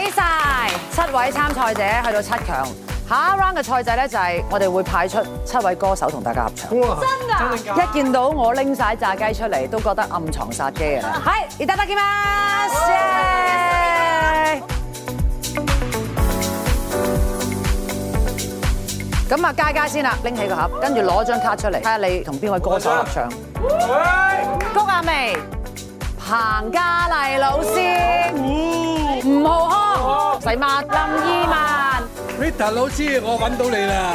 晒7位參賽者去到7強，下一 round 嘅賽制咧就係我哋會派出7位歌手同大家合唱。 哇！ 真㗎！ 一見到我拎晒炸雞出嚟，都覺得暗藏殺機嘅。係，いただきます。咁啊，佳佳先啦，拎起個盒，跟住攞張卡出嚟，睇下你同邊位歌手合唱。谷婭溦、彭嘉麗老師、吳浩康、細麥、林二汶。 Rita 老師，我揾到你啦！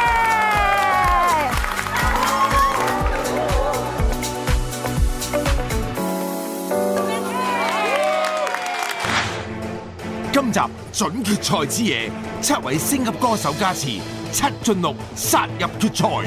今集準決賽之夜，7位星級歌手加持，7進6殺入決賽。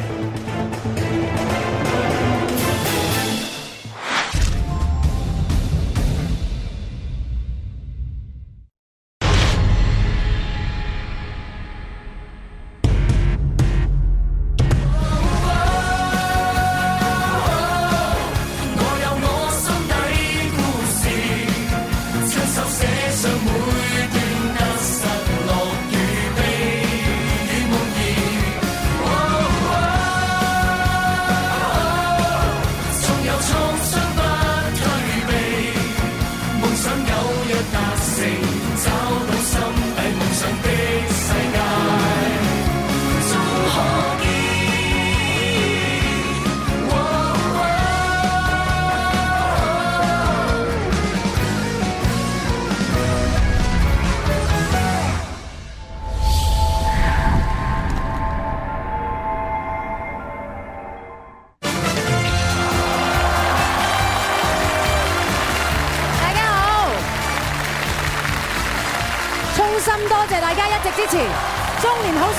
多謝大家一直支持中年好聲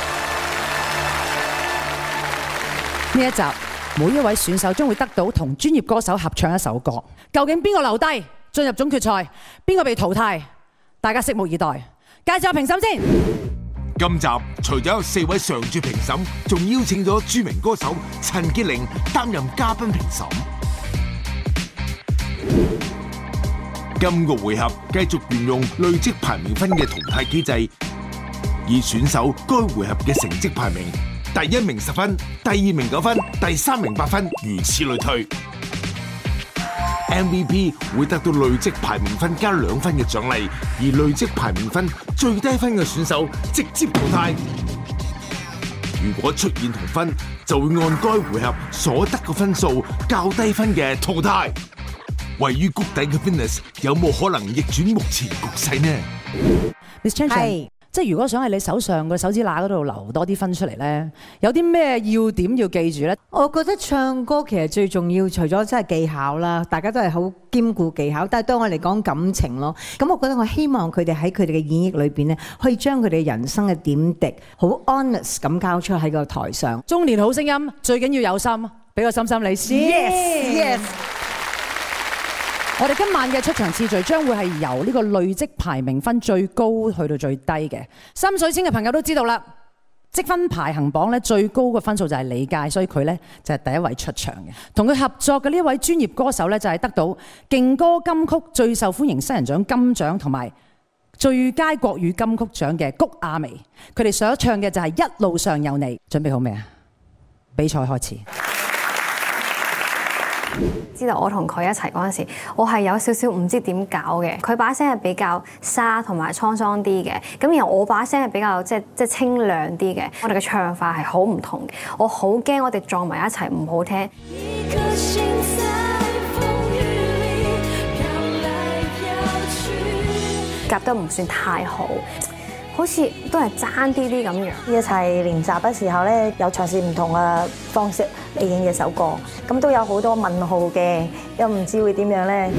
音。呢一集，每一位選手將會得到同專業歌手合唱一首歌。究竟邊個留低進入總決賽，邊個被淘汰？大家拭目以待。介紹下評審先。 今集除咗有4位常駐評審，仲邀請咗著名歌手陳潔靈擔任嘉賓評審。今個回合繼續沿用累積排名分嘅淘汰機制，以選手該回合嘅成績排名，第1名10分，第2名9分，第3名8分，如此類推。MVP 會得到累積排名分加2分嘅獎勵，而累積排名分最低分嘅選手直接淘汰。如果出現同分，就會按該回合所得嘅分數較低分嘅淘汰。位於谷底嘅 Venus 有冇可能逆轉目前局勢呢 ？Miss Chan Chan，即係如果想喺你手上個手指罅嗰度留多啲分出嚟咧，有啲咩要點要記住咧？ 我覺得唱歌其實最重要，除咗真係技巧啦，大家都係好兼顧技巧，但係對我嚟講感情咯。咁我覺得我希望佢哋喺佢哋嘅演繹裏邊咧，可以將佢哋人生嘅點滴好 honest 咁交出喺個台上。 中年好聲音最緊要有心，俾個心心你先。 Yes。 我哋今晚嘅出場次序將會係由呢個累積排名分最高去到最低嘅。心水清嘅朋友都知道啦，積分排行榜咧最高嘅分數就係李佳，所以佢咧就係第一位出場嘅。同佢合作嘅呢一位專業歌手咧就係得到勁歌金曲最受歡迎新人獎金獎同埋最佳國語金曲獎嘅谷婭溦。佢哋所唱嘅就係一路上有你。準備好未啊？比賽開始。 知道我同佢一齊嗰陣時，我係有少少唔知點搞嘅。佢把聲係比較沙同埋滄桑啲嘅，咁然後我把聲係比較即係清亮啲嘅。我哋嘅唱法係好唔同嘅，我好驚我哋撞埋一齊唔好聽。夾得唔算太好，好似都係爭啲啲咁樣。 一齊練習嘅時候咧，有嘗試唔同嘅方式嚟演嘅首歌，咁都有好多問號嘅，又唔知會點樣咧。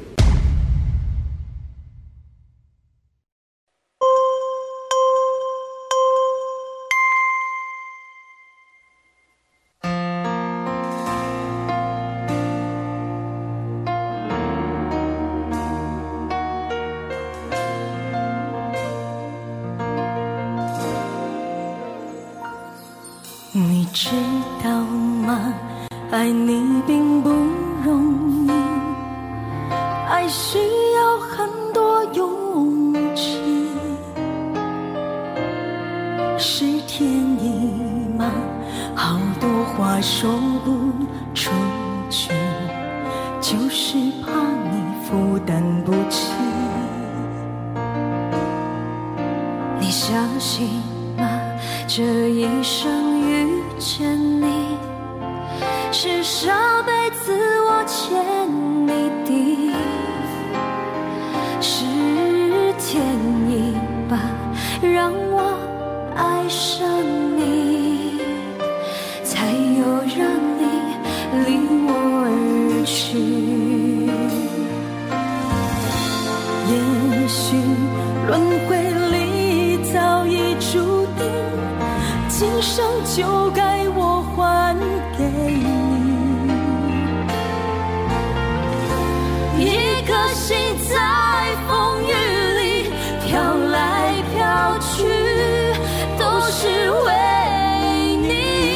你知道嗎？愛你並不容易，愛需要很多勇氣。 相信吗？这一生遇见你，是上辈子我欠你的，是天意吧，让我爱上你，才有让你离我而去。也许轮回里早已注定，今生就该我还给你。一颗心在风雨里飘来飘去，都是为你。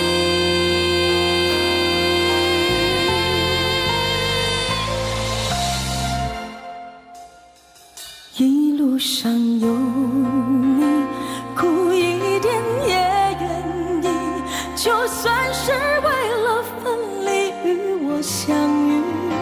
一路上有你，苦一点也愿意，就算是为了分离与我相遇。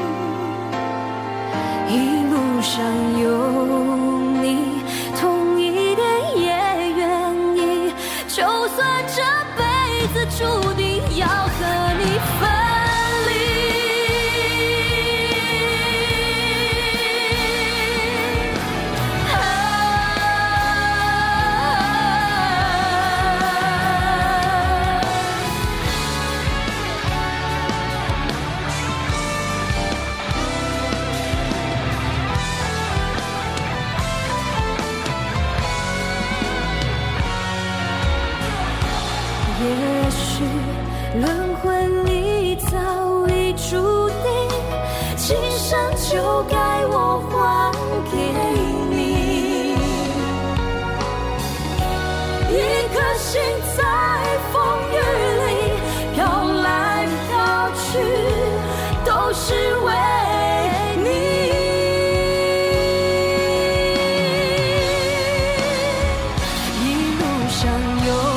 一路上有你，痛一点也愿意，就算这辈子注定要和你分离。也许轮回里早已注定，今生就该我还给你。一颗心在风雨里飘来飘去，都是为你。一路上有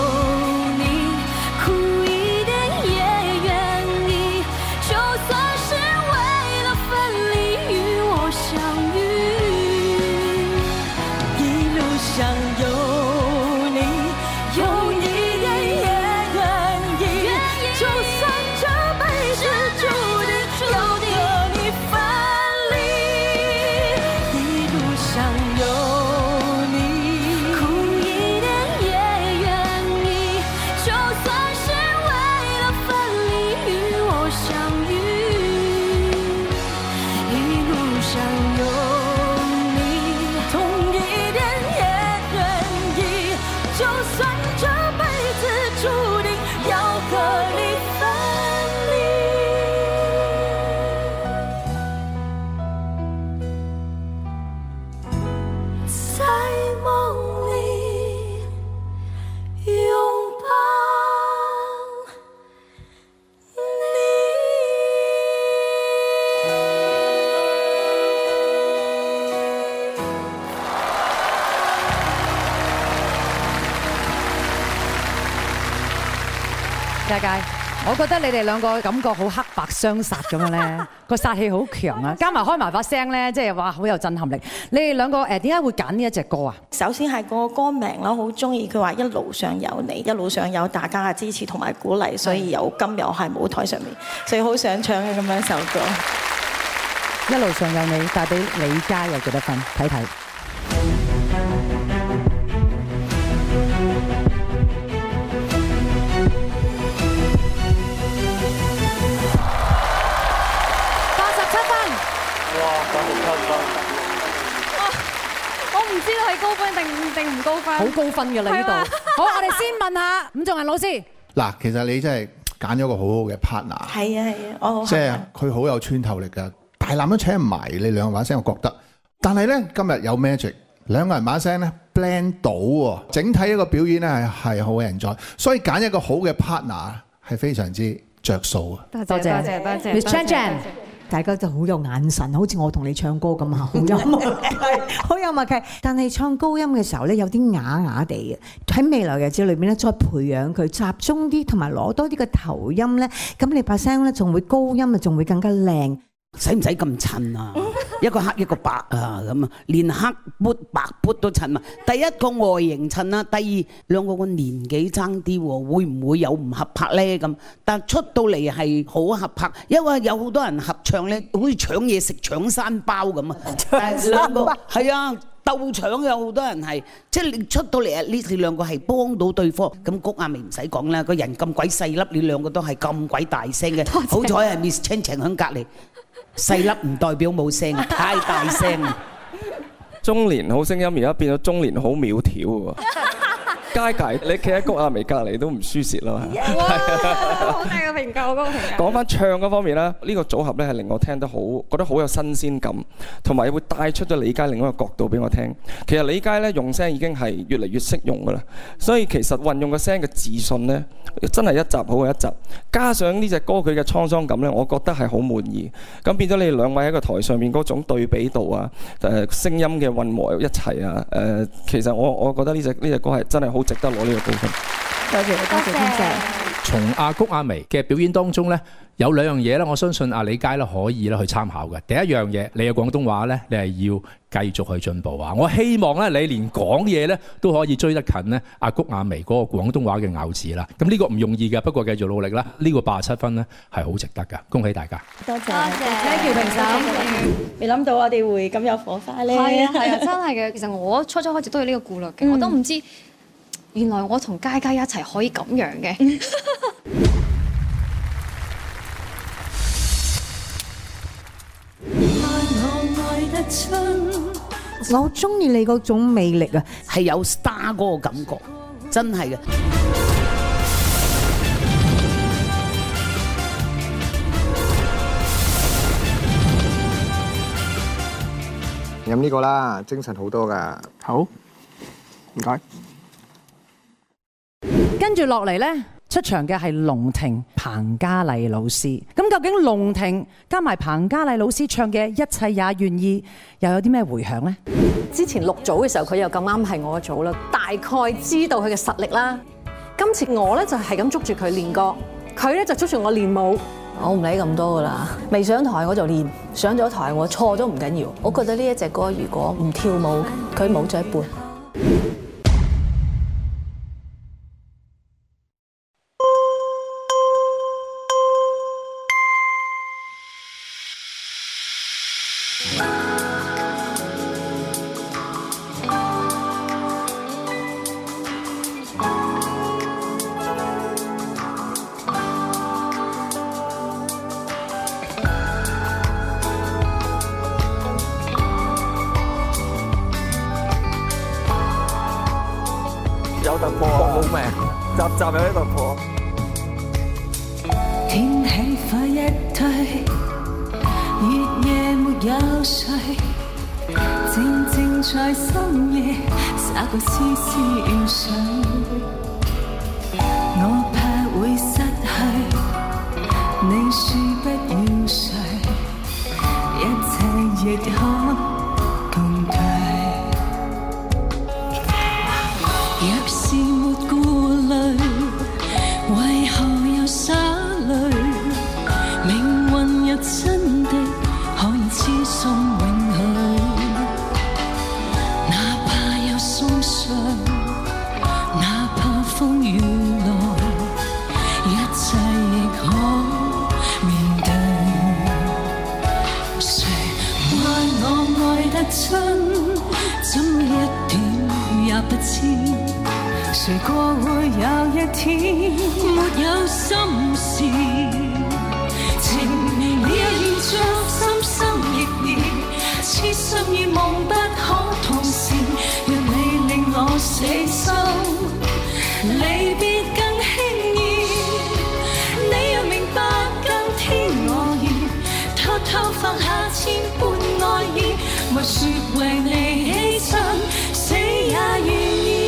佳佳，我覺得你哋兩個感覺好黑白相殺咁樣咧，個殺氣好強啊！加埋開埋把聲咧，即係哇好有震撼力。你哋兩個點解會揀呢一隻歌啊？ 首先係個歌名啦，好中意佢話一路上有你，一路上有大家嘅支持同埋鼓勵，所以有今日我喺舞台上面，所以好想唱嘅咁樣一首歌。 一路上有你帶俾李佳有幾多分？睇睇。 我唔知道係高分定唔高分。 好高分㗎啦呢度。好，我哋先問下伍仲衡老師。 嗱，其實你真係揀咗個好好嘅 partner。 係啊係啊，我好。 即係佢好有穿透力㗎，大男都請唔埋你兩個把聲，我覺得。但係咧今日有 magic，兩個人把聲咧 blend 到喎，整體一個表演咧係好 enjoy，所以揀一個好嘅 partner 係非常之着數啊！ 多謝 Miss Chan Chan。 大家就好有眼神，好似我同你唱歌咁啊，好有默契，好有默契。但係唱高音嘅時候咧，有啲啞啞地嘅。喺未來日子裏邊咧，再培養佢集中啲，同埋攞多啲嘅頭音咧，咁你把聲咧仲會高音啊，仲會更加靚。 使唔使咁襯啊？ 一個黑一個白啊咁啊，連黑砵白砵都襯埋。第一個外形襯啦，第二兩個個年紀爭啲喎，會唔會有唔合拍咧咁？但出到嚟係好合拍，因為有好多人合唱咧，好似搶嘢食搶山包咁啊！但係兩個係啊。鬥搶有好多人係，即係你出到嚟啊！呢兩個係幫到對方。咁谷亞薇唔使講啦，個人咁鬼細粒，你兩個都係咁鬼大聲嘅。好彩係 Miss Chan Chan 喺隔離，細粒唔代表冇聲，太大聲。 中年好聲音而家變咗中年好苗條喎。佳佳，你企喺谷亞薇隔離都唔輸蝕啦。 好大個評價，好高評價。 講翻唱嗰方面咧，呢個組合咧係令我聽得好，覺得好有新鮮感，同埋會帶出咗李佳另一個角度俾我聽。其實李佳咧用聲已經係越嚟越識用噶啦，所以其實運用個聲嘅自信咧，真係一集好過一集。加上呢隻歌佢嘅滄桑感咧，我覺得係好滿意。咁變咗你哋兩位喺個台上面嗰種對比度啊，聲音嘅混和一齊啊，其實我覺得呢隻歌係真係好值得攞呢個高分。 多謝多謝天謝。 從谷亞薇嘅表演當中咧，有兩樣嘢咧，我相信李佳咧可以咧去參考嘅。第一樣嘢，你嘅廣東話咧，你係要繼續去進步啊！我希望咧，你連講嘢咧都可以追得近咧谷亞薇嗰個廣東話嘅咬字啦。咁呢個唔容易嘅，不過繼續努力啦。呢個87分咧係好值得㗎，恭喜大家！ 多謝， 多謝 Thank you 評審。未諗到我哋會咁有火花咧。 係啊係啊，真係嘅。其實我初開始都有呢個顧慮嘅，我都唔知原來我同佳佳一齊可以咁樣嘅。 我好中意你嗰種魅力啊， 係有 star 嗰個感覺，真係嘅。 飲呢個啦，精神好多㗎。好，唔該。 跟住落嚟呢，出場嘅係龍婷彭嘉麗老師。咁究竟龍婷加埋彭嘉麗老師唱嘅《一切也願意》又有啲咩迴響呢？ 之前錄組嘅時候，佢又咁啱係我組啦，大概知道佢嘅實力啦。今次我咧就係咁捉住佢練歌，佢咧就捉住我練舞。我唔理咁多噶啦，未上台我就練，上咗台我錯咗唔緊要。我覺得呢一隻歌如果唔跳舞，佢冇咗一半。 有突破啊！好命，集有啲突破。 天氣快一退，月夜沒有睡，靜靜在深夜灑個絲絲水。我怕會失去，你說不要睡，一切亦可共退。若是沒顧慮，為何又灑淚？命運若真的可以痴心永許，哪怕有鬆傷，哪怕風雨來，一切亦可面對。誰愛我愛得真，怎一點也不知？誰過會有一天沒有心事？情你也願將心心亦意，痴心與夢不可同時。若你令我死心，離別更輕易。你若明白更天我意，偷偷放下千般愛意，莫說為你犧牲，死也願意。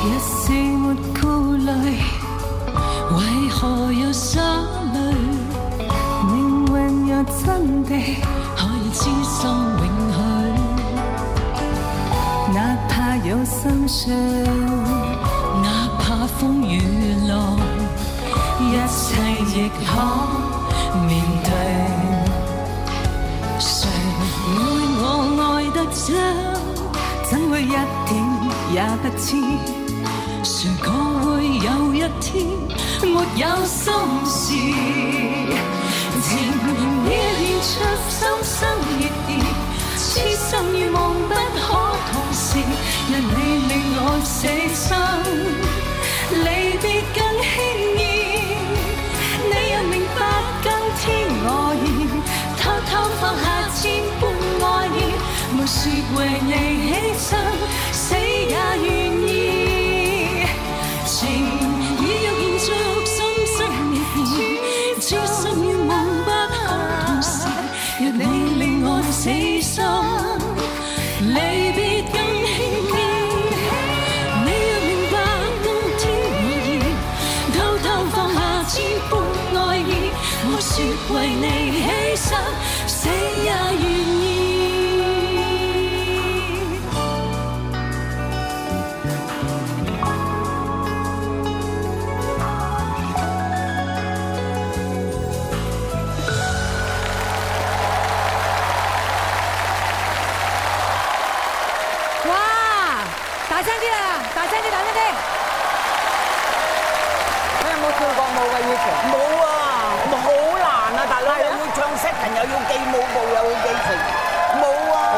一絲沒顧慮，為何要灑淚？命運若真的可以痴心永許，哪怕有心傷，哪怕風雨浪，一切亦可面對。誰愛我愛得真，怎會一點也不知？誰講會有一天沒有心事？情願演出心生熱意，痴心與夢不可同時。若你令我死心，離別更輕易。你又明白今天我已偷偷放下千般愛意，沒說為你犧牲，死也願意。情已有現着心生熱意，痴心與夢不可同時。若你令我死心，離別更輕易。你若明白今天我已偷偷放下千般愛意，我說為你犧牲，死也願意。 大聲啲啦！大聲啲，大聲啲！ 你有冇跳過舞嘅以前？冇啊，好難啊！大佬又要唱 setting，又要記舞步，又要記情，冇啊！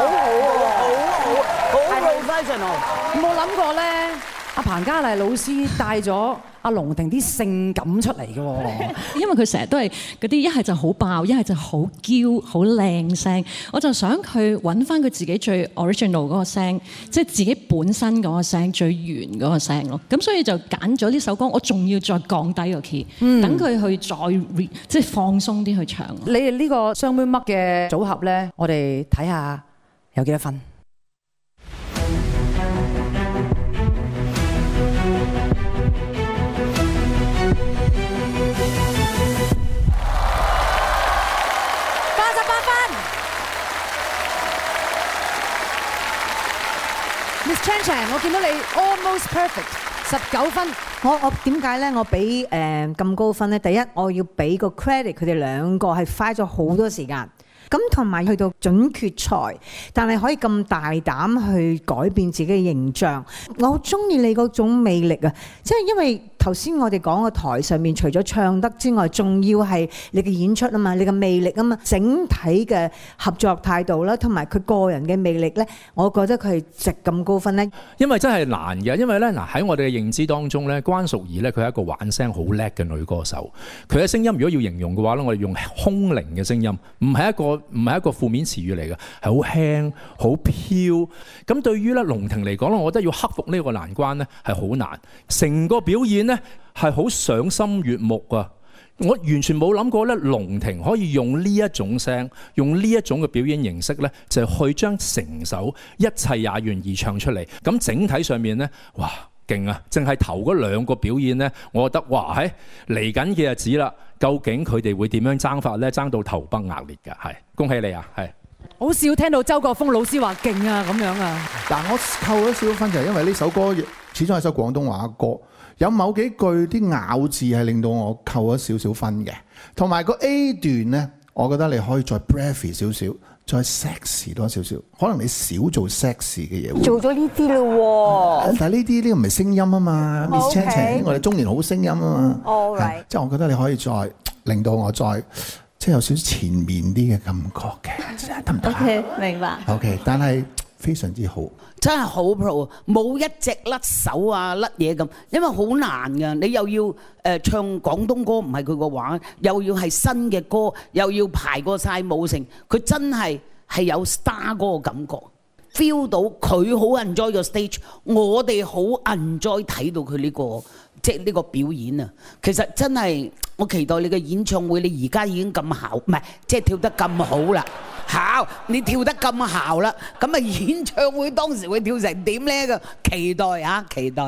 好 professional。 有冇諗過咧？阿彭嘉麗老師帶咗阿龍婷啲性感出嚟嘅喎， 因為佢成日都係嗰啲一係就好爆，一係就好嬌、好靚聲。我就想佢揾翻佢自己最 original 嗰個聲，即係自己本身嗰個聲最原嗰個聲咯。咁所以就揀咗呢首歌，我仲要再降低個 key，等佢去再即係放鬆啲去唱。 你哋呢個雙妹嘜嘅組合咧，我哋睇下有幾多分。Miss Chan Chan， 我見到你 almost perfect， 19分。 我點解咧？我俾咁高分咧？第一，我要俾個 credit 佢哋兩個係花咗好多時間。咁同埋去到準決賽，但係可以咁大膽去改變自己嘅形象，我好中意你嗰種魅力啊！即係因為頭先我哋講個台上面，除咗唱得之外，仲要係你嘅演出啊嘛，你嘅魅力啊嘛，整體嘅合作態度啦，同埋佢個人嘅魅力咧，我覺得佢係值咁高分咧。 因為真係難嘅，因為咧嗱喺我哋嘅認知當中咧，關淑怡咧佢係一個玩聲好叻嘅女歌手，佢嘅聲音如果要形容嘅話咧，我哋用空靈嘅聲音，唔係一個負面詞語嚟嘅，係好輕好飄。咁對於咧龍婷嚟講咧，我覺得要克服呢個難關咧係好難，成個表演咧係好賞心悅目啊！我完全冇諗過咧，龍婷可以用呢一種聲，用呢一種嘅表演形式咧，就去將成首一切也願意唱出嚟。咁整體上面咧，哇！勁啊！淨係頭嗰兩個表演咧，我覺得哇，喺嚟緊嘅日子啦，究竟佢哋會點樣爭法咧？爭到頭崩額裂㗎，係恭喜你啊！係好少聽到周國峰老師話勁啊咁樣啊！ 但我扣咗少少分就係因為呢首歌始終係首廣東話歌，有某幾句啲咬字係令到我扣咗少少分嘅，同埋個 A 段咧，我覺得你可以再 breathy 少少。再 sexy 多少少，可能你少做 sexy 嘅嘢。做咗呢啲咯喎，但係呢個唔係聲音啊嘛 ，Miss Chan Chan， 我哋中年好聲音啊嘛。All right，即係我覺得你可以再令到我再即係有少少前面啲嘅感覺嘅，得唔得 ？OK， 明白。 OK， 但係非常之好， 真係好 pro， 冇一隻甩手啊甩嘢咁，因為好難㗎。你又要唱廣東歌唔係佢個話，又要係新嘅歌，又要排過晒舞成，佢真係有 star 嗰個感覺 ，feel 到佢好 enjoy 個 stage， 我哋好 enjoy 睇到佢呢個即係呢個表演啊！其實真係我期待你嘅演唱會，你而家已經咁姣，唔係即係跳得咁好啦。好，你跳得咁姣啦，咁啊演唱會當時會跳成點呢？個期待啊，期待。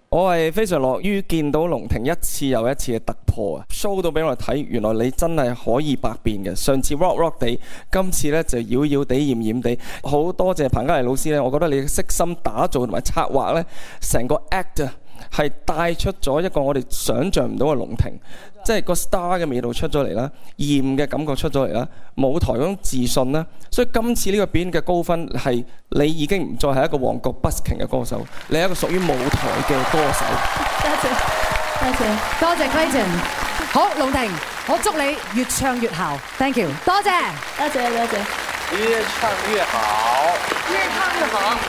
我係非常樂於見到龍婷一次又一次嘅突破啊 ，show 到俾我哋睇，原來你真係可以百變嘅。上次 rock 地，今次呢就妖妖地、豔豔地。好多謝彭嘉麗老師呢，我覺得你嘅悉心打造同埋策劃呢，成個 act 啊係帶出咗一個我哋想像唔到嘅龍婷，即係個 star 嘅味道出咗嚟啦，豔嘅感覺出咗嚟啦，舞台嗰種自信啦。所以今次呢個表演嘅高分係你已經唔再係一個旺角 busking 嘅歌手，你係一個屬於舞台嘅歌手。 多謝，多謝，多謝 Clayton。好，龍婷，我祝你越唱越好 ，thank you， 多謝，多謝，多謝。 越唱越好，越唱越好。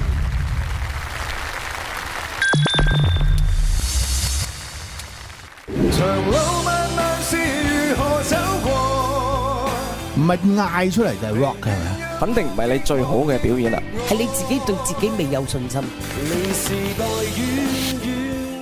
長路漫漫是如何走過？唔係嗌出嚟就係 rock 嘅，係咪啊？ 肯定唔係你最好嘅表演啦， 係你自己對自己未有信心。 離時代遠遠。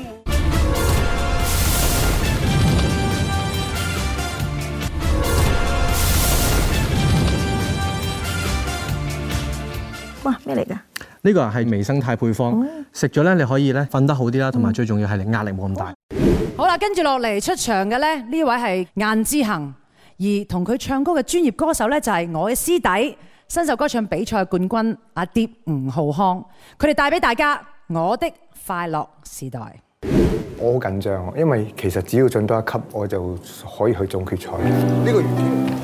哇！咩嚟㗎？ 呢個係微生態配方，食咗咧你可以咧瞓得好啲啦，同埋最重要係你壓力冇咁大。 好啦，跟住落嚟出場嘅咧，呢位係顏志恒，而同佢唱歌嘅專業歌手咧就係我嘅師弟，新秀歌唱比賽冠軍阿蝶吳浩康，佢哋帶俾大家我的快樂時代。 我好緊張，因為其實只要進多一級，我就可以去總決賽。呢個月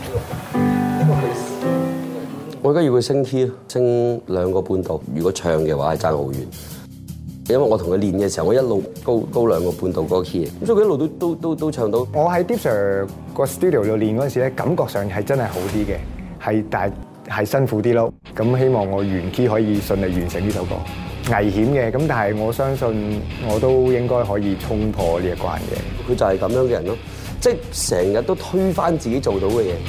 我而家要佢升 key， 升2個半度。如果唱嘅話係爭好遠，因為我同佢練嘅時候，我一路高2個半度嗰個 key， 咁所以佢一路都唱到。 我喺 Deep Sir 個 studio 度練嗰陣時咧，感覺上係真係好啲嘅，但係辛苦啲咯。咁希望我原 key 可以順利完成呢首歌。危險嘅，咁但係我相信我都應該可以衝破呢一關嘅。 佢就係咁樣嘅人咯，即係成日都推翻自己做到嘅嘢。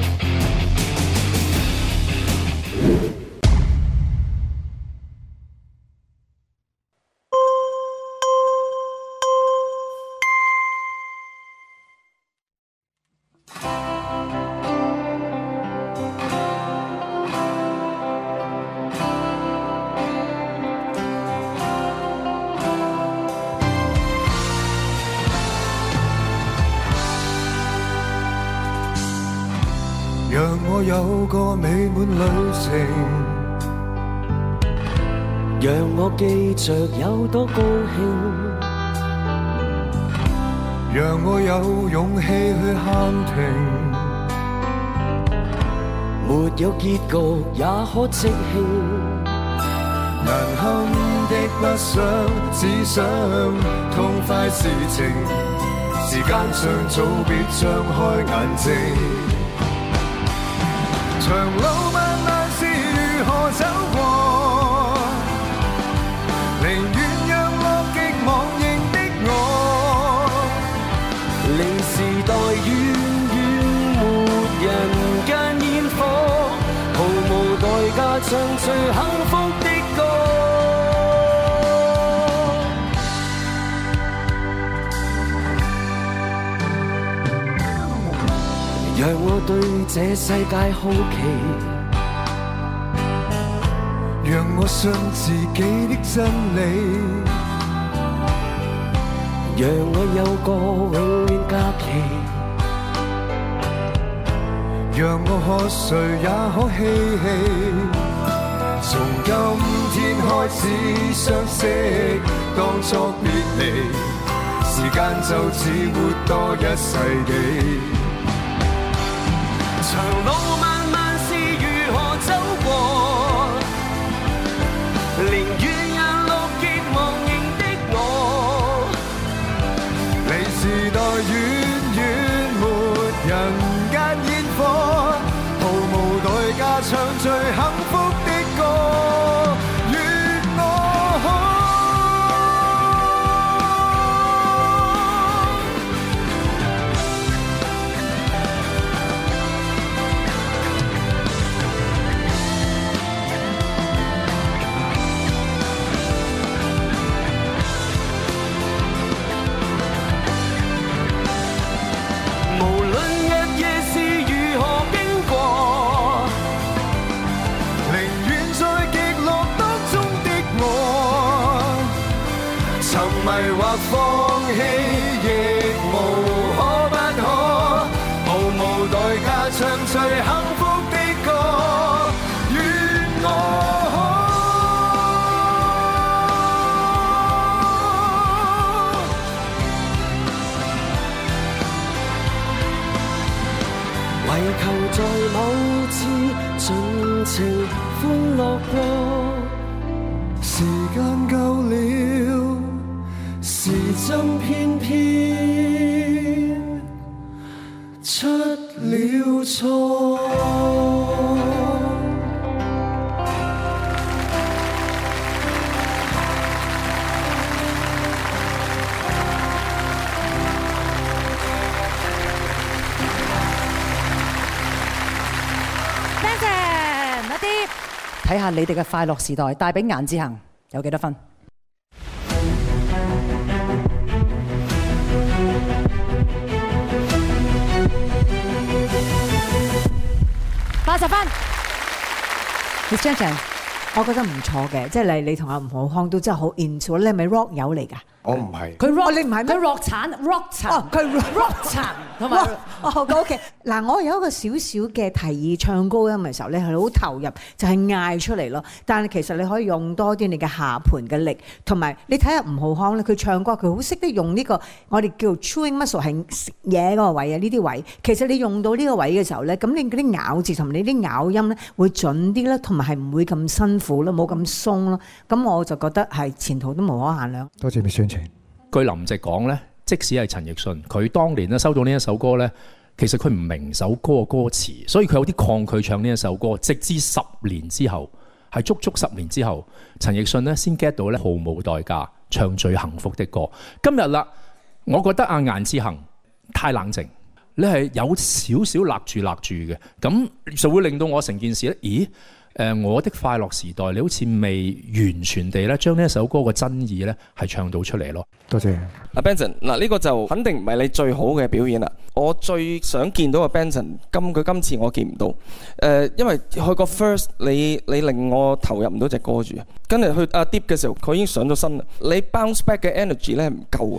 讓我有個美滿旅程，讓我記着有多高興，讓我有勇氣去喊停，沒有結局也可即興，難堪的不想，只想痛快事情，時間尚早，別張開眼睛。長路漫漫是如何走過，寧願讓樂極忘形的我，離時代遠遠，沒人間煙火，毫無代價唱最幸福的歌，讓我對這世界好奇，讓我信自己的真理，讓我有個永遠假期，讓我可睡也可嬉戲，從今天開始相識，當作別離，時間就似活多一世紀。長路漫漫是如何走過，寧願讓樂極忘形的我，離時代遠遠，沒人間煙火，毫無代價唱最幸福的歌，願我可。寧或放棄，亦無可不可，毫無代價唱最幸福的歌，願我可，為求在某次盡情歡樂過，時間夠了，時針偏偏出了錯。 睇下你哋嘅快樂時代帶俾顏志恒有幾多分？80分。Miss Chan Chan， 我覺得唔錯嘅，即係例如你同阿吳浩康都真係好 into，你係咪 rock 友嚟㗎？ 我唔係。 佢 rock， 你唔係咩？ 佢 rock 殘。哦，佢 rock 殘同埋。 哦 ，OK。嗱，我有一個少少嘅提議，唱高音嘅時候咧係好投入，就係嗌出嚟咯。但係其實你可以用多啲你嘅下盤嘅力，同埋你睇下吳浩康咧，佢唱歌佢好識得用呢個我哋叫 chewing muscle 係食嘢嗰個位啊，呢啲位。其實你用到呢個位嘅時候咧，咁你嗰啲咬字同埋你啲咬音咧會準啲啦，同埋係唔會咁辛苦咯，冇咁鬆咯。咁我就覺得係前途都無可限量。 多謝你宣傳。 據林夕講咧，即使係陳奕迅，佢當年咧收到呢一首歌咧，其實佢唔明首歌嘅歌詞，所以佢有啲抗拒唱呢一首歌。直至10年之後，係足足10年之後，陳奕迅咧先 get 到咧毫無代價唱最幸福的歌。今日啦，我覺得阿顏志恒太冷靜，你係有少少勒住嘅，咁就會令到我成件事咧，咦？我的快樂時代，你好似未完全地咧將呢一首歌嘅真意咧係唱到出嚟咯。 多謝。 阿 Benson， 嗱呢個就肯定唔係你最好嘅表演啦。我最想見到嘅 Benson， 佢今次我見唔到。因為佢個 first 你令我投入唔到隻歌住，跟住去阿 Deep 嘅時候，佢已經上咗身啦。你 bounce back 嘅 energy 咧唔夠啊！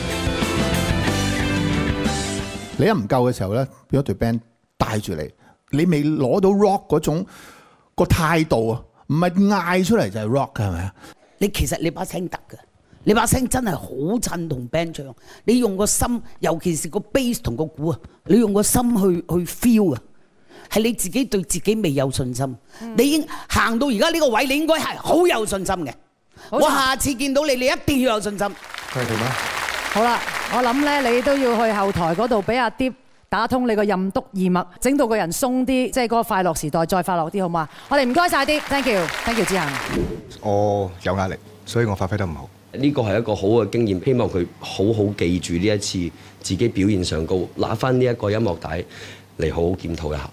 你一唔夠嘅時候咧，變咗隊 band 帶住你，你未攞到 rock 嗰種個態度啊，唔係嗌出嚟就係 rock 嘅，係咪啊？ 你其實你把聲得嘅，你把聲真係好襯同 band 唱。你用個心，尤其是個 bass 同個鼓啊，你用個心去 feel 啊，係你自己對自己未有信心。你已經行到而家呢個位，你應該係好有信心嘅。我下次見到你，你一定要有信心。 係點啊？ 好啦，我諗咧，你都要去後台嗰度俾阿 Deep 打通你個任督二脈，整到個人鬆啲，即係嗰個快樂時代再快樂啲，好嘛？我哋唔該晒啲 ，thank you 志恒。 我有壓力，所以我發揮得唔好。 呢個係一個好嘅經驗，希望佢好好記住呢一次自己表現上高，拿翻呢一個音樂帶嚟好好檢討一下。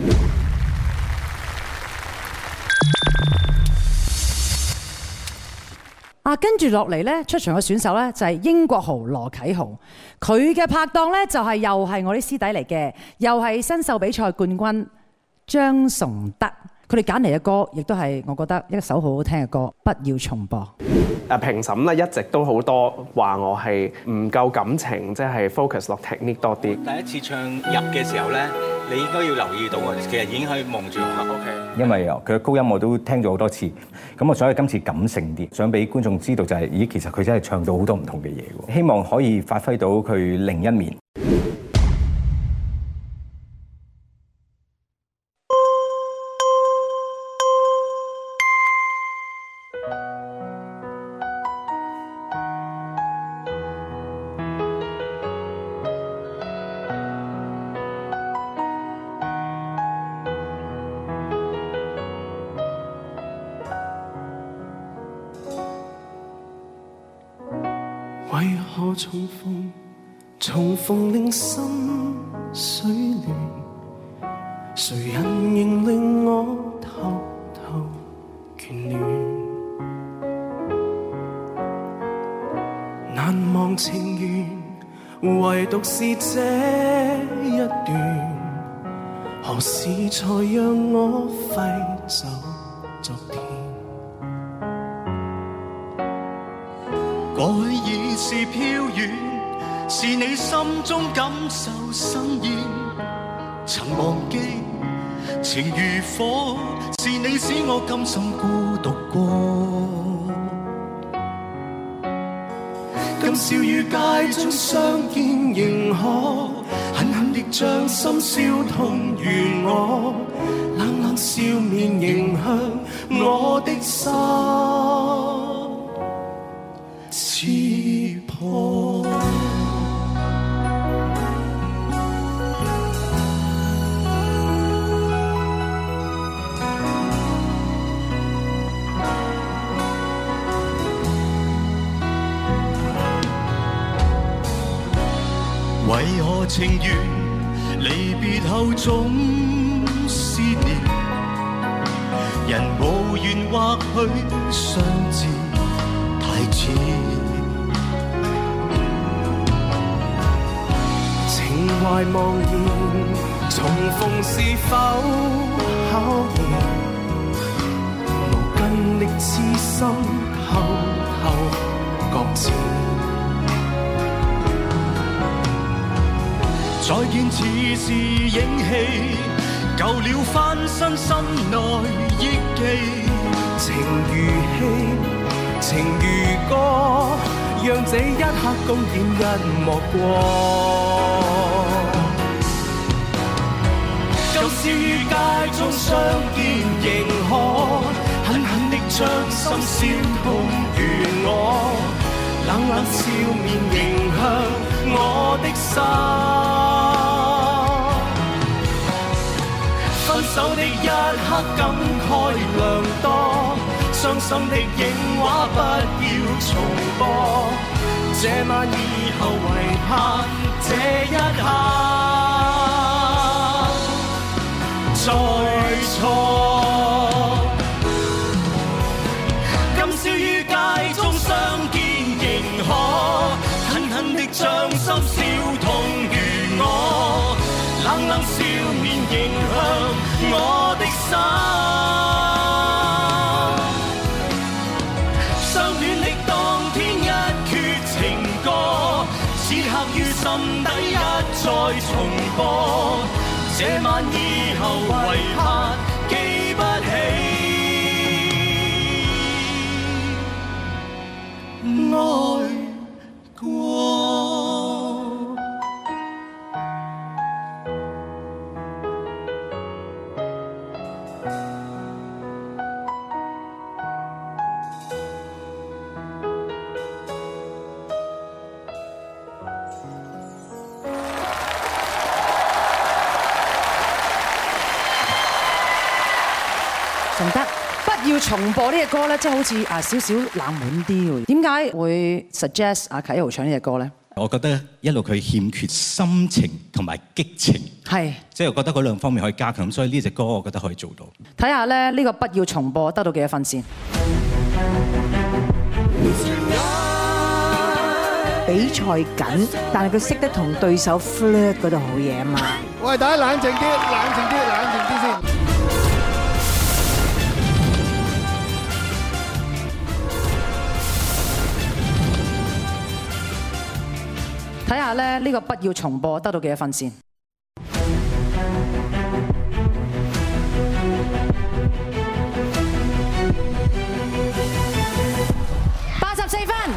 跟住落嚟咧，出場嘅選手咧就係英國豪羅啟豪，佢嘅拍檔咧就係又係我啲師弟嚟嘅，又係新秀比賽冠軍張崇德。佢哋揀嚟嘅歌，亦都係我覺得一首好好聽嘅歌，不要重播。 評審咧一直都好多話我係唔夠感情，即係 focus 落 technique 多啲。 第一次唱入嘅時候咧，你應該要留意到啊，其實已經可以望住我。OK。因為佢嘅高音我都聽咗好多次，咁我所以今次感性啲，想俾觀眾知道就係，咦，其實佢真係唱到好多唔同嘅嘢喎。希望可以發揮到佢另一面。 為何重逢令心水亂？誰人仍令我偷偷眷戀？難忘情緣，唯獨是這一段，何時才讓我揮手昨天？ 過去已是飄遠，是你心中感受生厭。曾忘記情如火，是你使我甘心孤獨過。今宵與街中相見仍可，狠狠地將心燒痛如我，冷冷笑面迎向我的心刺破。為何情緣離別後總思念？人無緣或許相知太遲，情懷茫然，重逢是否考驗？無根的痴心偷偷擱淺。再見似是影戲，舊了翻身心內憶記。情如戲，情如歌，讓這一刻公演一幕過。今宵於街中相見仍可，狠狠地將心燒痛如我，冷冷笑面迎向我的心。分手的一刻感慨良多，傷心的影畫不要重播。這晚以後唯盼這一刻再錯。今宵於街中相見仍可，狠狠地將心燒痛如我，冷冷笑面迎向我的心。相戀的當天一闕情歌，此刻於心底一再重播。這晚以後唯盼記不起愛過。 順德不要重播呢隻歌咧，即係好似少少冷門啲喎。點解會 suggest 阿啟豪唱呢隻歌咧？ 我覺得一路佢欠缺心情同埋激情， 係即係我覺得嗰兩方面可以加強，所以呢隻歌我覺得可以做到。 睇下咧呢個不要重播得到幾多分先？ 比賽緊，但係佢識得同對手 flirt 嗰度好嘢啊嘛！ 喂，大家冷靜啲，冷靜啲，冷靜啲先。 睇下咧呢個不要重播得到幾多分先？84分。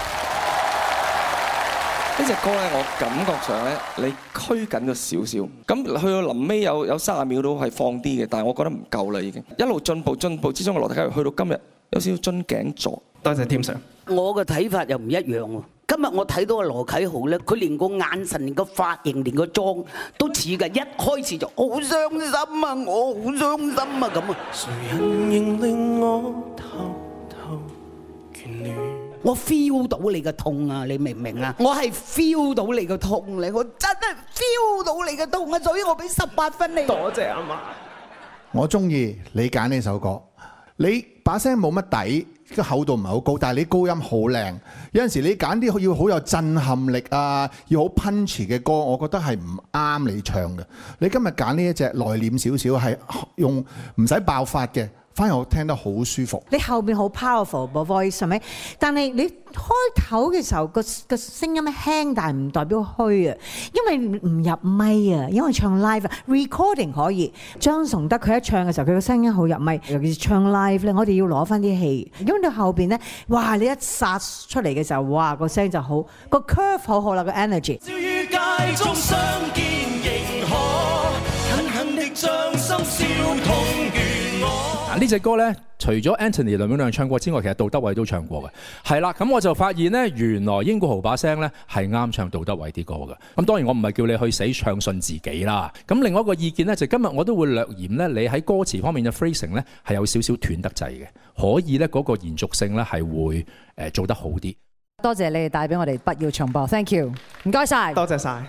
呢隻歌咧，我感覺上咧，你拘緊咗少少，咁去到臨尾有30秒都係放啲嘅，但係我覺得唔夠啦，已經一路進步之中嘅羅大佑去到今日有少少樽頸座。多謝 Tim Sir。 我嘅睇法又唔一樣喎。今日我睇到阿羅啟豪咧，佢連個眼神、連個髮型、連個妝都似㗎，一開始就好傷心啊！我好傷心啊咁啊！誰人仍令我偷偷眷戀？我 feel 到你嘅痛啊！你明唔明啊？我係 feel 到你嘅痛咧，我真係 feel 到你嘅痛啊！所以我俾18分你。多謝阿媽。 我中意你揀呢首歌，你把聲冇乜底。個厚度唔係好高，但係你高音好靚。有陣時你揀啲要好有震撼力啊，要好 punch 嘅歌，我覺得係唔啱你唱嘅。你今日揀呢一隻內斂少少，係用唔使爆發嘅， 反而我聽得好舒服。 你後邊好 powerful 個 voice 係咪？但係你開頭嘅時候個聲音輕，但係唔代表虛啊，因為唔入咪啊，因為唱 live recording 可以。張崇德佢一唱嘅時候，佢個聲音好入咪，尤其是唱 live 咧，我哋要攞翻啲氣，因為到後邊咧，哇！你一殺出嚟嘅時候，哇！個聲就好，個 curve 好好啦，個 energy。 於街中相見仍可狠狠的將心燒痛願我。 呢隻歌咧，除咗 Anthony 梁永亮唱過之外，其實杜德偉都唱過嘅。係啦，咁我就發現咧，原來英國豪把聲咧係啱唱杜德偉啲歌嘅。咁當然我唔係叫你去死唱信自己啦。咁另外一個意見咧，就今日我都會略嫌咧，你喺歌詞方面嘅 phrasing 咧係有少少斷得滯嘅，可以咧嗰個延續性咧係會做得好啲。 多謝你哋帶俾我哋不要重播 ，thank you， 唔該晒， 多謝晒。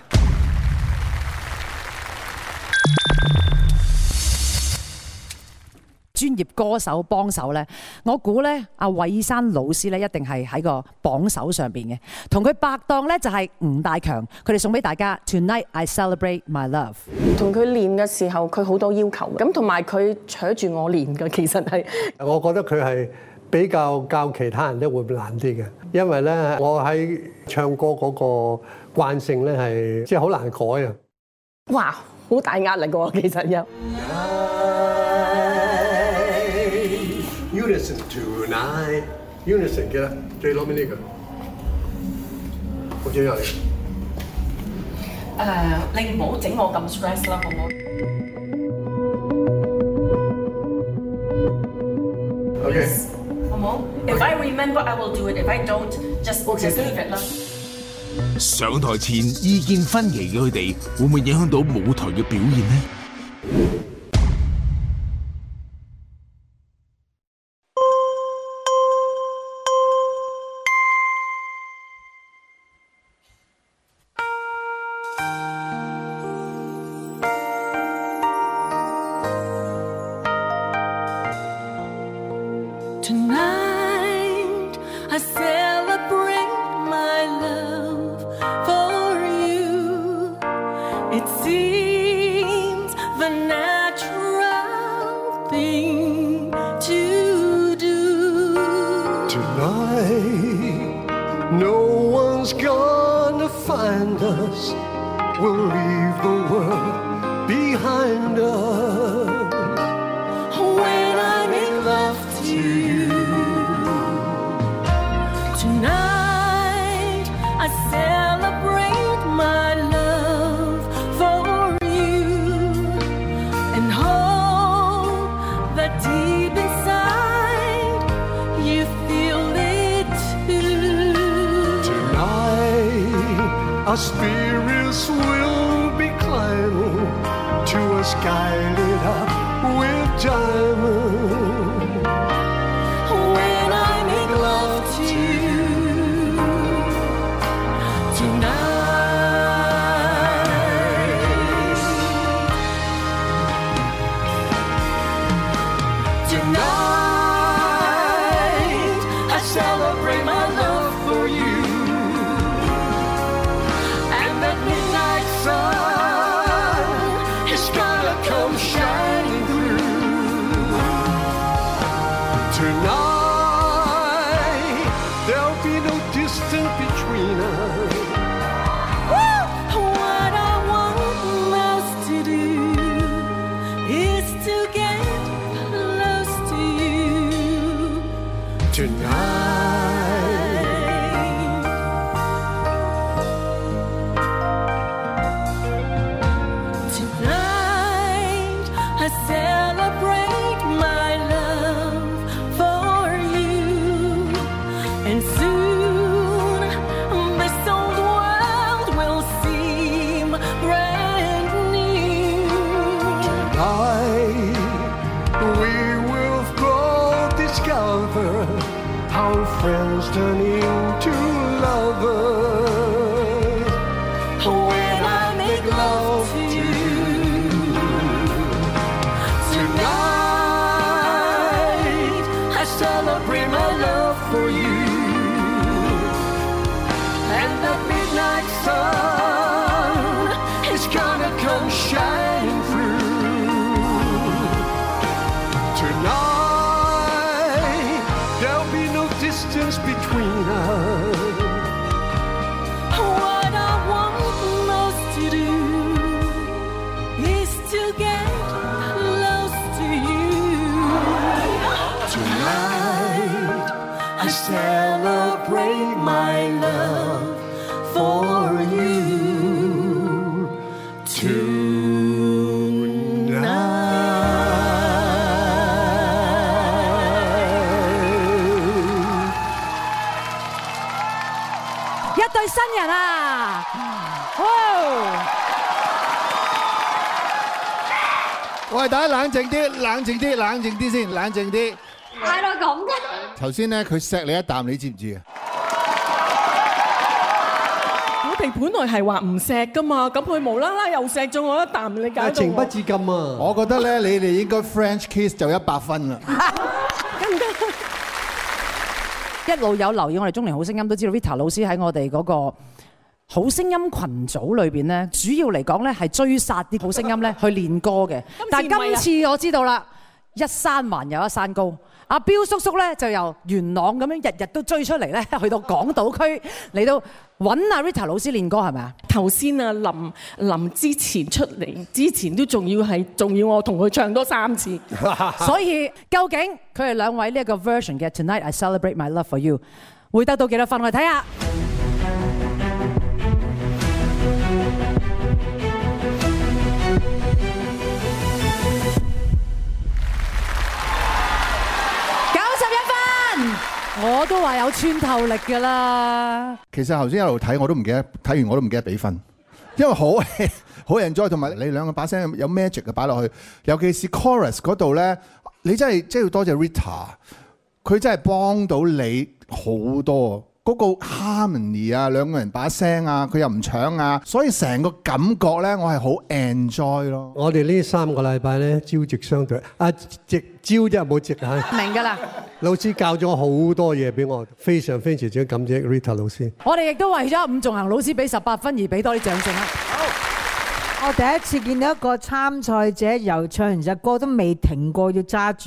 專業歌手幫手咧，我估咧阿韋山老師咧一定係喺個榜首上邊嘅，同佢拍檔咧就係吳大強，佢哋送俾大家 Tonight I Celebrate My Love。 同佢練嘅時候，佢好多要求，咁同埋佢扯住我練嘅，其實係。 我覺得佢係比較教其他人咧會難啲嘅，因為咧我喺唱歌嗰個慣性咧係即係好難改啊。 哇，好大壓力喎，其實又。 Unison tonight, Unison 記得最攞尾呢個，好重要嚟。 你唔好整我咁 stress 啦，好唔好 ？OK， 好唔好 ？If I remember, I will do it. If I don't, just leave it 啦。 上台前意見分歧嘅佢哋，會唔會影響到舞台嘅表現呢？ Our spirits will be climbing to a sky lit up with diamonds. When I make love to you tonight, tonight I celebrate my love for you. Come shining through tonight. There'll be no distance between us. for you tonight。 一對新人啊！哇！ 喂，大家冷靜啲，冷靜啲，冷靜啲先，冷靜啲。 嗌到咁嘅。 頭先咧，佢錫你一啖，你知唔知啊？ 我哋本來係話唔錫噶嘛，咁佢無啦啦又錫咗我一啖，你搞到情不自禁啊！ 我覺得咧，你哋應該 French kiss 就100分啦。 一路有留意我哋中年好聲音都知道 Rita 老師喺我哋嗰個好聲音群組裏邊咧，主要嚟講咧係追殺啲好聲音咧去練歌嘅。但係今次我知道啦，一山還有一山高。阿彪叔叔咧就由元朗咁樣日日都追出嚟咧，去到港島區嚟到揾阿 Rita 老師練歌係咪啊？ 頭先啊，臨之前出嚟之前都仲要我同佢唱多3次。 所以究竟佢哋兩位呢一個 version 嘅 Tonight I Celebrate My Love For You 會得到幾多分？我哋睇下。我都話有穿透力㗎啦。 其實頭先一路睇我都唔記得，睇完我都唔記得俾分，因為好 enjoy， 同埋你兩個把聲有 magic 嘅擺落去，尤其是 chorus 嗰度咧，你真係要多謝 Rita， 佢真係幫到你好多。嗰個 harmony 啊，兩個人把聲啊，佢又唔搶啊，所以成個感覺咧，我係好 enjoy 咯。 我哋呢3個禮拜咧，朝夕相對，夕朝真係冇夕啊。 明㗎啦。 老師教咗好多嘢俾我，非常感謝 Rita 老師。 我哋亦都為咗伍仲衡老師俾18分而俾多啲掌聲啦。 好，我第一次見到一個參賽者由唱完隻歌都未停過，要揸住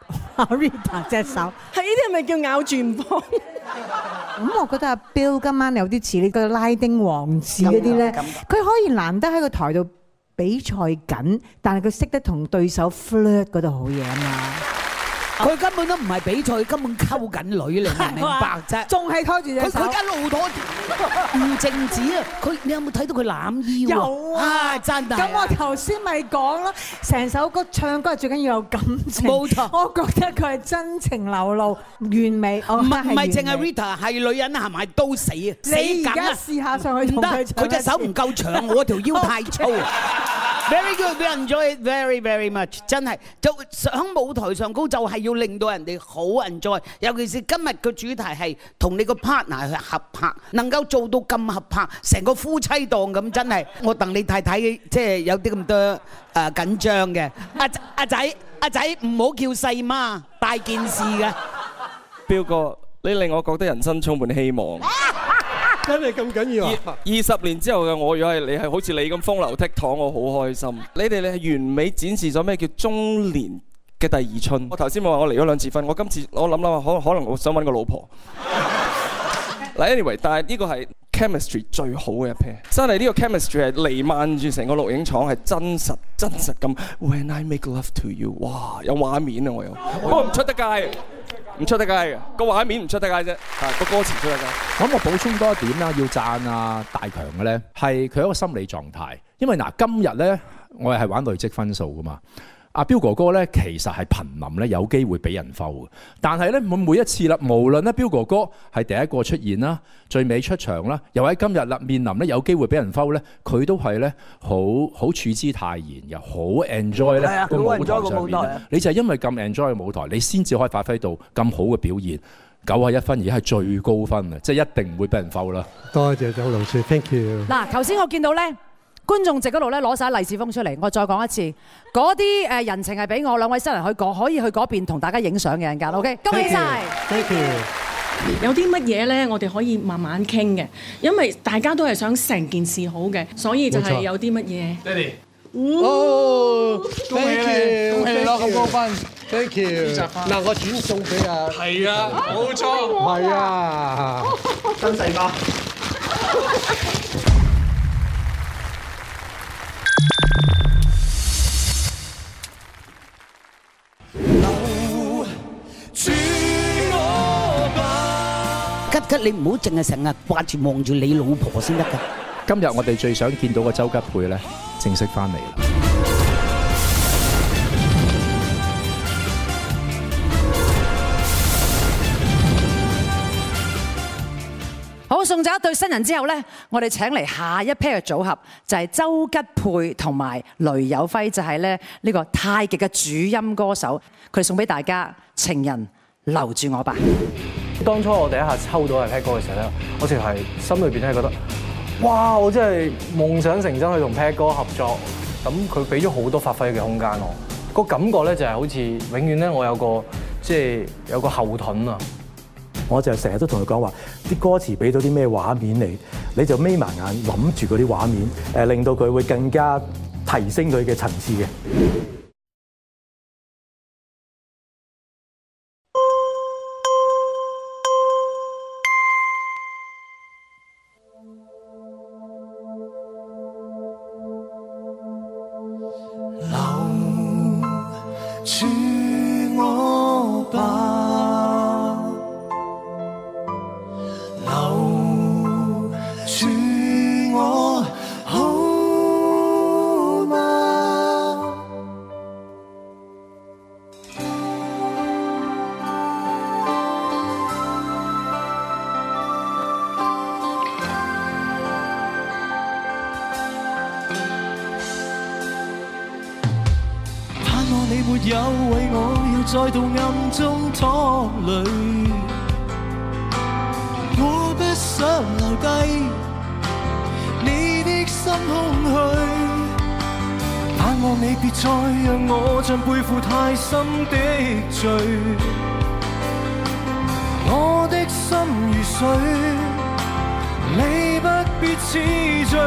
Rita 隻手。 係呢啲係咪叫咬住唔放？ 咁我覺得阿 Bill 今晚有啲似呢個拉丁王子嗰啲咧，佢可以難得喺個台度比賽緊，但係佢識得同對手 flirt 嗰度好嘢啊嘛！ 佢根本都唔係比賽，根本溝緊女，你明唔明白啫？ 仲係拖住隻手， 佢一路拖住，唔淨止啊！你有冇睇到佢攬腰啊？ 有啊， 真係。 咁我頭先咪講咯，成首歌唱歌最緊要有感情。 冇錯， 我覺得佢係真情流露，完美。 唔係淨係 Rita， 係女人係咪都死啊？ 你而家試下上去同佢唱。 佢隻手唔夠長，我條腰太粗。Very good, we enjoy it very very much。真係就喺舞台上高就係要令到人哋好 enjoy，尤其是今日嘅主題係同你個 partner 去合拍，能夠做到咁合拍，成個夫妻檔咁，真係我戥你太太即係有啲咁多緊張嘅。阿仔唔好叫細媽，大件事嘅。 彪哥，你令我覺得人生充滿希望。 真係咁緊要啊 ！20年之後嘅我，如果係你係好似你咁風流倜儻，我好開心。你哋係完美展示咗咩叫中年嘅第二春。我頭先冇話我離咗2次婚，我今次我諗可能我想揾個老婆。嗱 ，anyway， 但係呢個係 chemistry 最好嘅一 pair， 真係呢個 chemistry 係瀰漫住成個錄影廠，係真實咁。When I make love to you， 哇，有畫面啊！我有，不過唔出得街。唔出得街嘅，個畫面唔出得街啫，個歌詞出得街。 咁我補充多一點啦，要讚啊大強嘅咧，係佢一個心理狀態。因為嗱，今日咧我係玩累積分數噶嘛。阿彪哥哥咧其實係瀕臨咧有機會俾人摟嘅，但係咧每一次啦，無論咧彪哥哥係第一個出現啦，最尾出場啦，又喺今日啦面臨咧有機會俾人摟咧，佢都係咧好處之泰然，又好 enjoy 咧個舞台上面。你就係因為咁 enjoy 嘅舞台，你先至可以發揮到咁好嘅表現。91分而家係最高分啊！即係一定唔會俾人摟啦。 多謝周老師 ，thank you。 嗱，頭先我見到咧。觀眾席嗰度咧攞晒利是封出嚟，我再講一次，嗰啲人情係俾我兩位新人可以去嗰邊同大家影相嘅陣間 ，OK？ 恭喜晒 ！Thank you。 有啲乜嘢咧，我哋可以慢慢傾嘅，因為大家都係想成件事好嘅，所以就係有啲乜嘢。爹哋， 哦，恭喜你， 恭喜你攞咁高分 ，thank you。嗱，我轉送俾啊。 係啊，冇錯。 係啊， 真細胞。 吉你唔好淨係成日掛住望住你老婆先得㗎。 今日我哋最想見到嘅周吉佩咧，正式翻嚟啦！ 好，送走一對新人之後呢，我哋請嚟下一 pair 嘅組合，就係周吉佩同埋雷有輝，就係咧呢個太極嘅主音歌手，佢哋送俾大家《情人留住我吧》。 當初我第一下抽到係 Pat 哥嘅時候咧，我直係心裏邊咧覺得，哇！我真係夢想成真去同 Pat 哥合作，咁佢俾咗好多發揮嘅空間我，個感覺咧就係好似永遠咧我有個後盾啊！ 我就成日都同佢講話，啲歌詞俾到啲咩畫面你就眯埋眼諗住嗰啲畫面，令到佢會更加提升佢嘅層次嘅。 再度暗中拖累，我不想留低你的心空虛，盼望你別再讓我像背負太深的罪，我的心如水，你不必痴醉，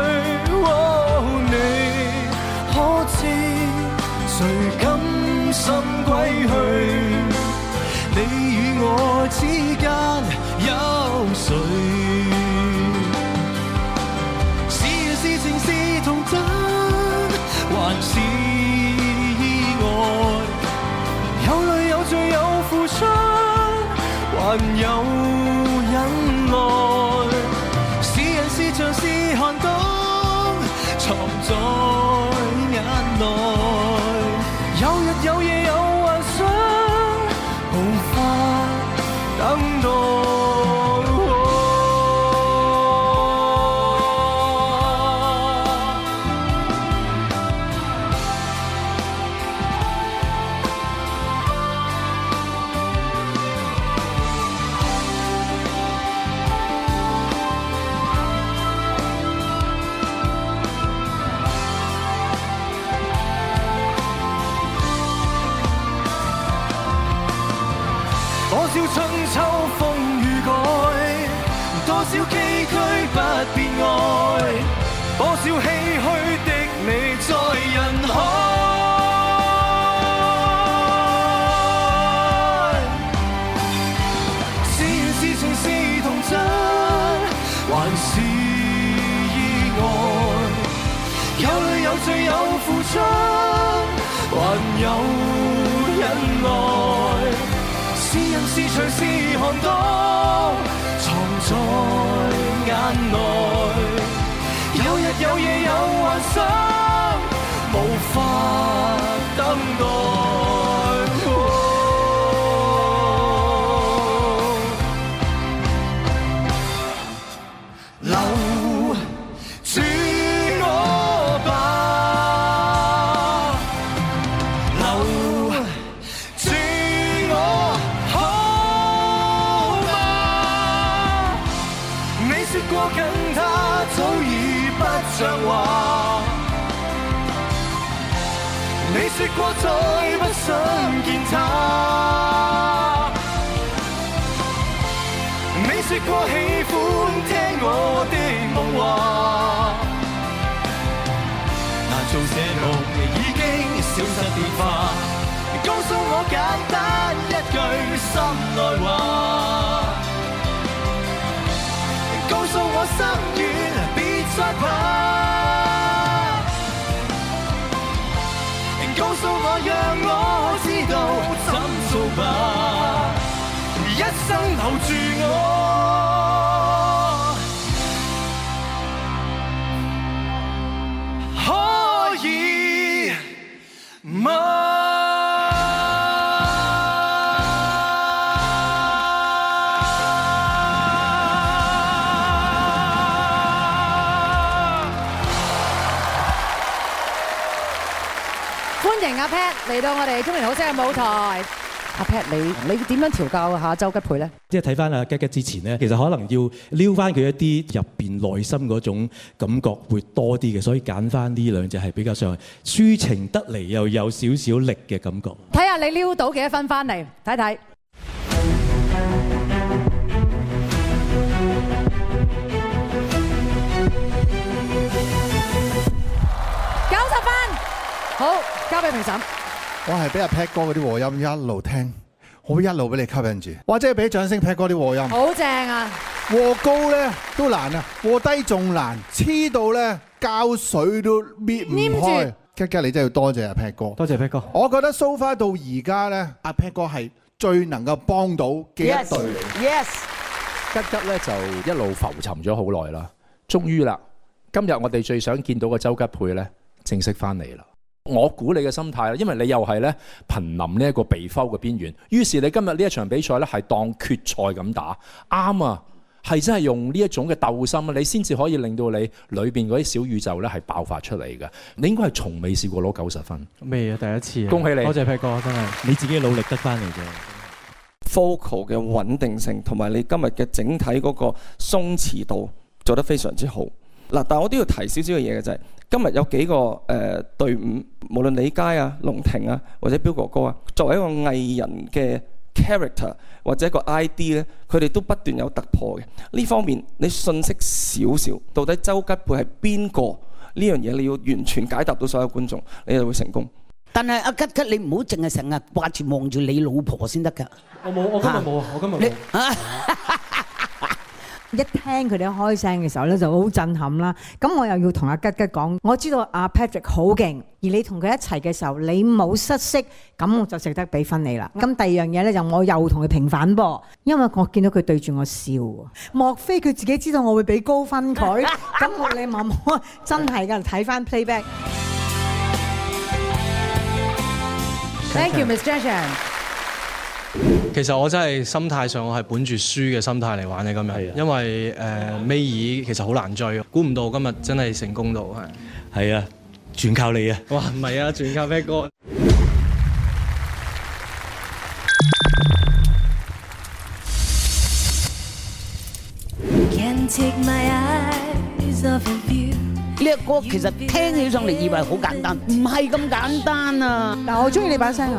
你可知誰甘心歸去？你與我之間有誰？是緣是情是童真，還是意外？有淚有罪有付出，還有忍耐。是人是牆是寒冬，藏在眼內。有日有夜有幻想，無法等待。多少春秋風雨改，多少崎嶇不變愛，多少唏噓的你在人海。是緣是情是童真，還是意外？有淚有罪有付出，還有忍耐。是人是牆是寒冬，藏在眼內。有日有夜有幻想，無法等待。留住我吧，留住我。說過跟他早已不像話，你說過再不想見他，你說過喜歡聽我的夢話，難做這夢已經消失變化，告訴我簡單一句心內話，告訴我心軟別再怕，告訴我讓我知道怎做吧，一生留住我。 歡迎阿 Pat 嚟到我哋中年好聲嘅舞台。阿 Pat，你點樣調教下周吉佩咧？ 即係睇翻阿吉吉之前咧，其實可能要撩翻佢一啲入邊內心嗰種感覺會多啲嘅，所以揀翻呢兩隻係比較上抒情得嚟又有少少力嘅感覺。 睇下你撩到幾多分翻嚟，睇睇。90分，好，交俾評審。 我係俾阿 Pat 哥嗰啲和音一路聽，我會一路俾你吸引住。或者係俾掌聲 Pat 哥啲和音。 好正啊！ 和高咧都難啊，和低仲難，黐到咧膠水都搣唔開。吉吉你真係要多謝阿 Pat 哥， 多謝 Pat 哥。 我覺得 so far 到而家咧，阿 Pat 哥係最能夠幫到嘅一隊。 Yes， 吉吉咧就一路浮沉咗好耐啦，終於啦，今日我哋最想見到嘅周吉佩咧正式翻嚟啦。我估你嘅心態啦，因為你又係咧瀕臨呢一個被摟嘅邊緣，於是你今日呢一場比賽咧係當決賽咁打，啱啊，係真係用呢一種嘅鬥心啊，你先至可以令到你裏邊嗰啲小宇宙咧係爆發出嚟嘅。你應該係從未試過攞90分， 未啊，第一次啊， 恭喜你， 多謝 Pat 哥，真係你自己努力得翻嚟嘅。 Vocal 嘅穩定性同埋你今日嘅整體嗰個鬆弛度做得非常之好。嗱，但係我都要提少少嘅嘢嘅就係，今日有幾個隊伍，無論李佳啊、龍庭啊，或者彪哥哥啊，作為一個藝人嘅 character 或者一個 ID 咧，佢哋都不斷有突破嘅。呢方面你信息少少，到底周吉佩係邊個呢樣嘢，你要完全解答到所有觀眾，你就會成功。 但係阿吉吉，你唔好淨係成日掛住望住你老婆先得㗎。 我今日冇啊，我今日冇。 一聽佢哋開聲嘅時候咧，就好震撼啦。咁我又要同阿吉吉講，我知道阿 Patrick 好勁，而你同佢一齊嘅時候，你冇失色，咁我就值得俾分你啦。咁第二樣嘢咧，就我又同佢平反噃，因為我見到佢對住我笑，莫非佢自己知道我會俾高分佢？咁我你問我真係㗎，睇翻 playback。 Thank you, Miss Jason。 其實我真係心態上，我係本住輸嘅心態嚟玩嘅今日，因為尾二其實好難追，估唔到今日真係成功到係。 係啊，全靠你啊！ 哇，唔係啊，全靠 Pat 哥。 呢個歌其實聽起上嚟以為好簡單，唔係咁簡單啊！ 但我中意你把聲啊！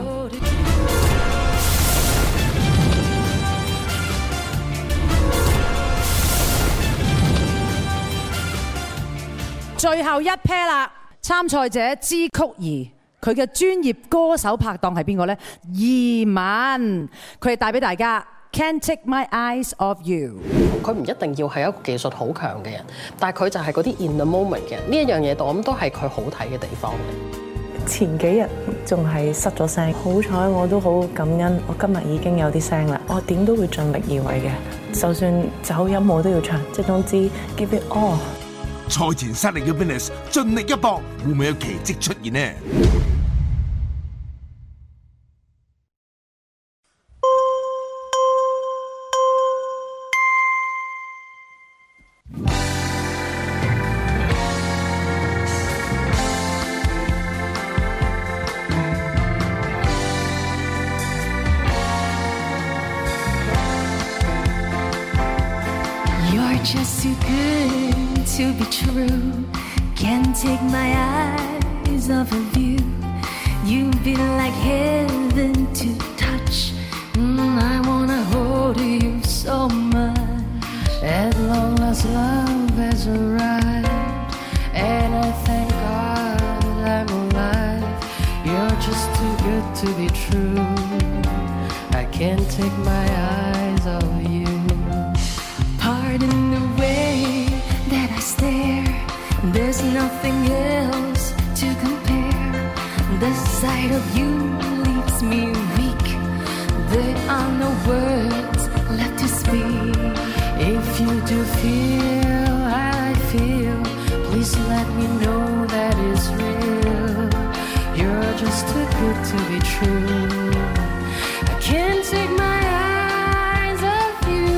最後一 pair 啦，參賽者支嚳儀，佢嘅專業歌手拍檔係邊個呢？移民，佢哋帶俾大家 Can't Take My Eyes Off You。 佢唔一定要係一個技術好強嘅人，但係佢就係嗰啲 in the moment 嘅人。呢一樣嘢，我諗都係佢好睇嘅地方。 前幾日仲係失咗聲，好彩我都好感恩，我今日已經有啲聲啦。我點都會盡力而為嘅，就算走音我都要唱，即係總之 give it all。 賽前失利嘅 Venus 盡力一搏，會唔會有奇蹟出現呢 ？You're just too good to be true. Can't take my eyes off of you. You've been like heaven to touch. I wanna hold you so much. At long last, love has arrived, and I thank God I'm alive. You're just too good to be true. I can't take my eyes off you. Pardon the way that I stare. There's nothing else to compare. The sight of you leaves me weak. There are no words left to speak. If you do feel how I feel, please let me know that it's real. You're just too good to be true. I can't take my eyes off you.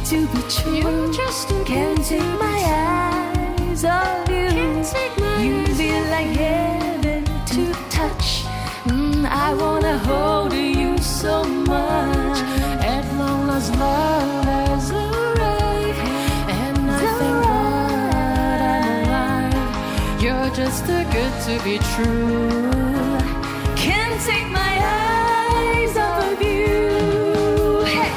to be true. Can't take my eyes off you. You feel like heaven to touch. I wanna hold you so much. At long last, love has arrived, and I thank God I'm alive. You're just too good to be true. Can't take my eyes off of you. Hey.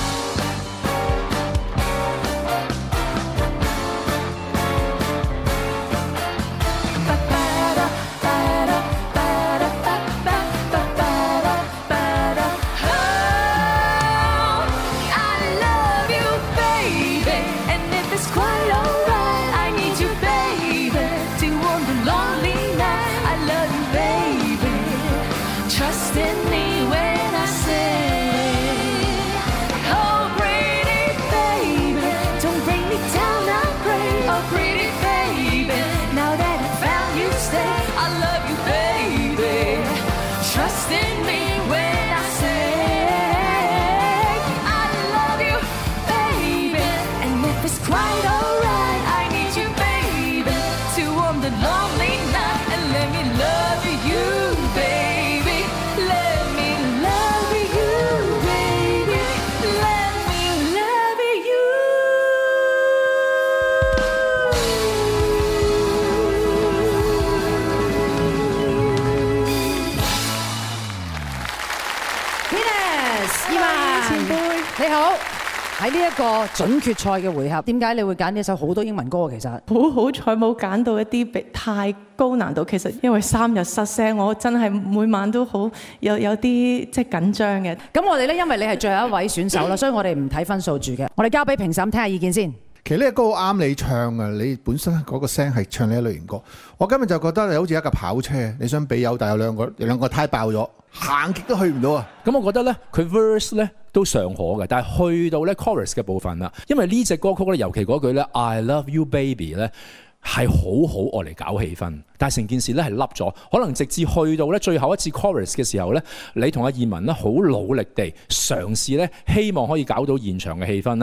你好，喺呢一個準決賽嘅回合，點解你會揀呢首好多英文歌？其實好彩冇揀到一啲太高難度。其實因為3日失聲，我真係每晚都好有啲即係緊張嘅。 咁我哋咧，因為你係最後一位選手啦，所以我哋唔睇分數住嘅，我哋交俾評審聽下意見先。 其實呢個歌好啱你唱啊！你本身嗰個聲係唱呢一類型歌。我今日就覺得你好似一架跑車，你想比友，但有兩個胎爆咗，行極都去唔到啊！ 咁我覺得咧，佢 verse 咧都尚可嘅，但係去到咧 chorus 嘅部分啦，因為呢隻歌曲咧，尤其嗰句咧 I love you baby 咧係好好愛嚟搞氣氛，但係成件事咧係凹咗，可能直至去到咧最後一次 chorus 嘅時候咧，你同阿燕文咧好努力地嘗試咧，希望可以搞到現場嘅氣氛啦。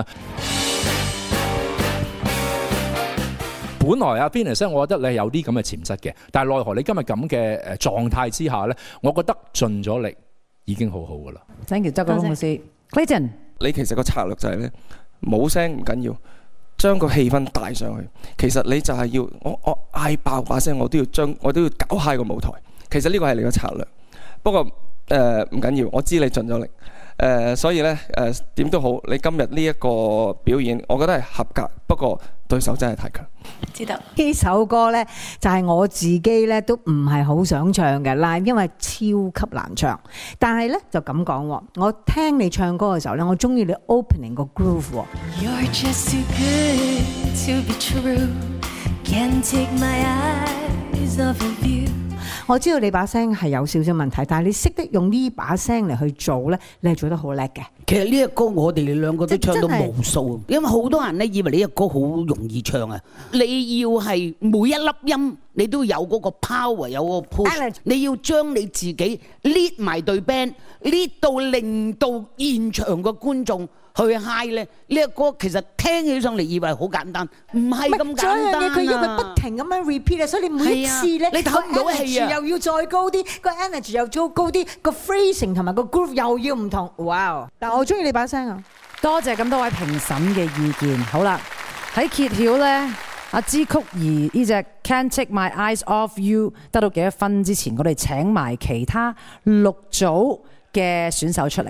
本來阿 Venus 我覺得你係有啲咁嘅潛質嘅，但係奈何你今日咁嘅狀態之下咧，我覺得盡咗力已經好好噶啦。 Thank you， 周國峰老師 ，Clayton， 你其實個策略就係咧冇聲唔緊要，將個氣氛帶上去。其實你就係要我嗌爆把聲，我都要搞嗨個舞台。其實呢個係你個策略。不過唔緊要，我知你盡咗力。所以咧點都好，你今日呢一個表演，我覺得係合格。不過對手真係太強。 知道呢首歌咧，就係我自己咧都唔係好想唱嘅啦，因為超級難唱。但係咧就咁講，我聽你唱歌嘅時候咧，我中意你 opening 個 groove。 You're just too good to be true. Can't take my eyes off of you. 我知道你把聲係有少少問題，但係你識得用呢把聲嚟去做咧，你係做得好叻嘅。 其實呢一歌我哋兩個都唱到無數，因為好多人咧以為呢一歌好容易唱啊！你要係每一粒音你都有嗰個 power， 有個 push， 你要將你自己 lead 埋隊 band， lead 到令到現場嘅觀眾去 high 咧。呢一歌其實聽起上嚟以為好簡單，唔係咁簡單啊！ 佢因為不停咁樣 repeat 啊，所以你每一次咧， 你唞唔到氣啊， 又要再高啲，個 energy 又再高啲，個 phrasing 同埋個 groove 又要唔同。哇！但我中意你把聲啊！ 多謝咁多位評審嘅意見。好啦，喺揭曉咧，阿支嚳儀呢隻 Can't Take My Eyes Off You 得到幾多分之前，我哋請埋其他6組嘅選手出嚟。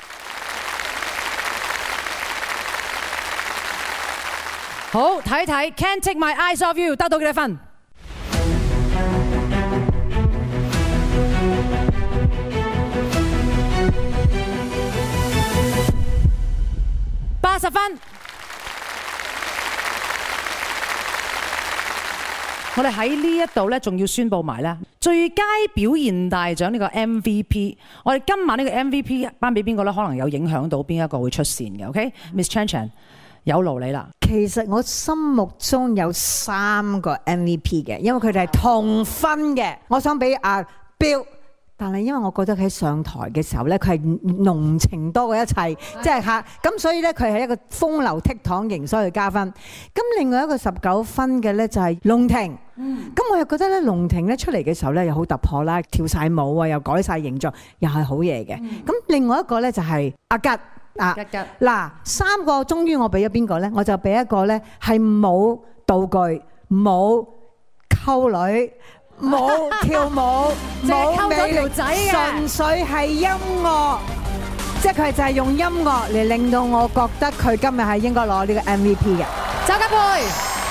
好，睇睇 Can't Take My Eyes Off You 得到幾多分？80分。我哋喺呢一度咧，仲要宣佈埋咧最佳表現大獎呢個 MVP。我哋今晚呢個 MVP 頒俾邊個咧？可能有影響到邊一個會出線嘅。OK，Miss Chan Chan 有勞你啦。 其實我心目中有3個 MVP 嘅，因為佢哋係同分嘅。我想俾阿 Bill 但係因為我覺得佢喺上台嘅時候咧，佢係濃情多過一切，即係嚇咁，所以咧佢係一個風流倜儻型，所以加分。咁另外一個19分嘅咧就係龍婷，咁我又覺得咧龍婷咧出嚟嘅時候咧又好突破啦，跳晒舞啊，又改晒形象，又係好嘢嘅。咁另外一個咧就係阿吉。嗱，3個終於我俾咗邊個咧？我就俾一個咧係冇道具、冇溝女、冇跳舞、冇美條仔嘅，純粹係音樂，即係佢就係用音樂嚟令到我覺得佢今日係應該攞呢個 MVP 嘅。 周家佩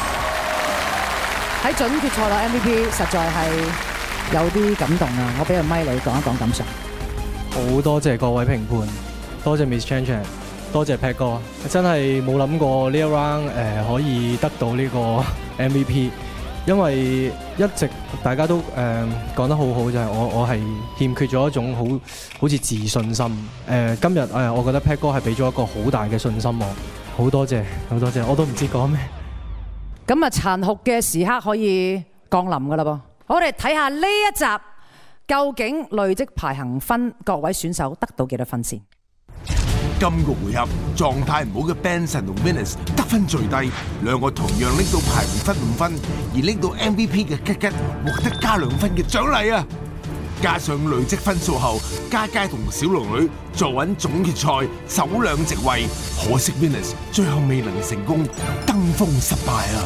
喺準決賽攞 MVP，實在係有啲感動啊！我俾個咪你講一講感想。 好多謝各位評判。多謝 Miss Chan Chan， 多謝 Pat 哥，真係冇諗過呢一 round 可以得到呢個 MVP， 因為一直大家都講得好好，就係我係欠缺咗一種好似自信心。今日我覺得 Pat 哥係俾咗一個好大嘅信心我，好多謝，我都唔知講咩。 咁啊，殘酷嘅時刻可以降臨㗎啦噃，我哋睇下呢一集究竟累積排行分各位選手得到幾多分先？ 今個回合狀態唔好嘅 Benson 同 Venus 得分最低，兩個同樣拎到排名分5分，而拎到 MVP 嘅吉吉獲得加2分嘅獎勵啊！加上累積分數後，嘉佳同小龍女坐穩總決賽首2席位，可惜 Venus 最後未能成功，登峰失敗啊！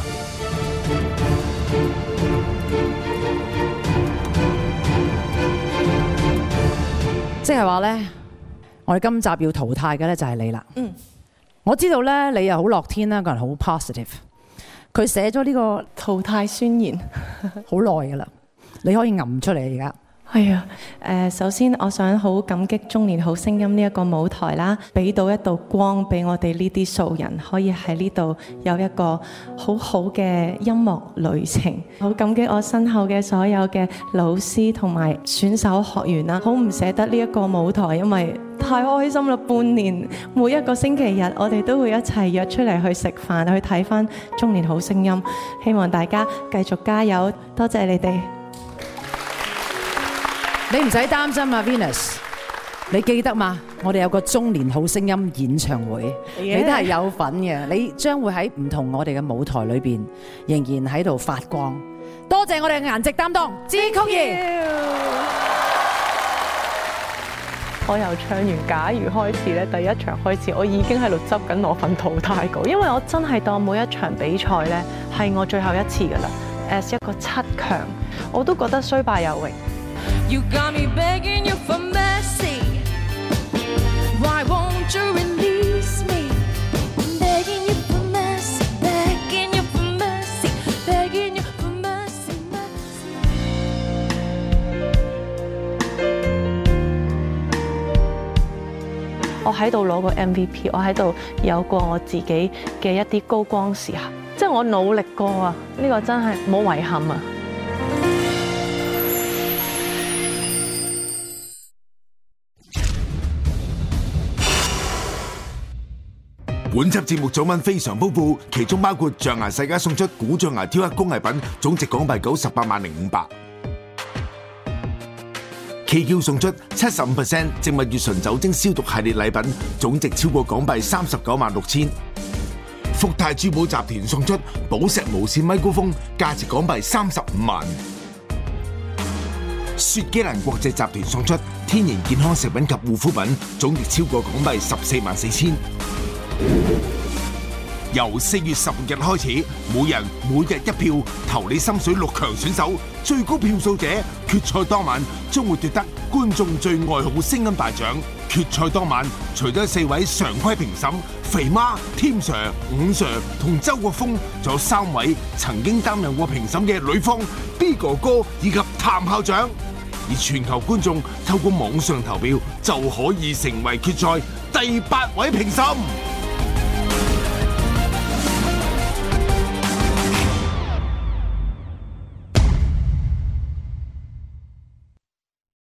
即係話咧。我哋今集要淘汰嘅咧就係你啦。我知道咧你又好樂天啦，個人好 positive。佢寫咗呢個淘汰宣言好耐噶啦，你可以揞出嚟而家。 係啊，首先我想好感激中年好聲音呢一個舞台啦，俾到一道光俾我哋呢啲素人，可以喺呢度有一個好好嘅音樂旅程。好感激我身後嘅所有嘅老師同埋選手學員啦，好唔捨得呢一個舞台，因為太開心啦！半年每一個星期日，我哋都會一齊約出嚟去食飯，去睇返中年好聲音。希望大家繼續加油，多謝你哋。 你唔使擔心啊 Venus， 你記得嘛？我哋有個中年好聲音演唱會，你都係有份嘅。你將會喺唔同我哋嘅舞台裏邊，仍然喺度發光。多謝我哋嘅顏值擔當支嚳儀。 我由唱完假如開始咧，第一場開始，我已經喺度執緊我份淘汰稿，因為我真係當每一場比賽咧係我最後一次噶啦。as 一個7強，我都覺得雖敗猶榮。 You got me begging you for mercy. Why won't you release me? Begging you for mercy, begging you for mercy, begging you for mercy, mercy. 我喺度攞過 MVP， 我喺度有過我自己嘅一啲高光時刻，即係我努力過啊！呢個真係冇遺憾啊！ 本輯節目獎品非常豐富，其中包括象牙世家送出古象牙雕刻工藝品，總值港幣980500。KQ 送出75% 植物乙醇酒精消毒系列禮品，總值超過港幣396000。福泰珠寶集團送出寶石無線咪高峰，價值港幣35萬。雪肌蘭國際集團送出天然健康食品及護膚品，總值超過港幣144000。由4月15日開始，每人每日一票，投你心水6強選手，最高票數者決賽當晚將會奪得觀眾最愛好聲音大獎。決賽當晚，除咗4位常規評審肥媽、添 Sir、伍 Sir 同周國峰，仲有3位曾經擔任過評審嘅呂方、B 哥哥以及譚校長。而全球觀眾透過網上投票就可以成為決賽第8位評審。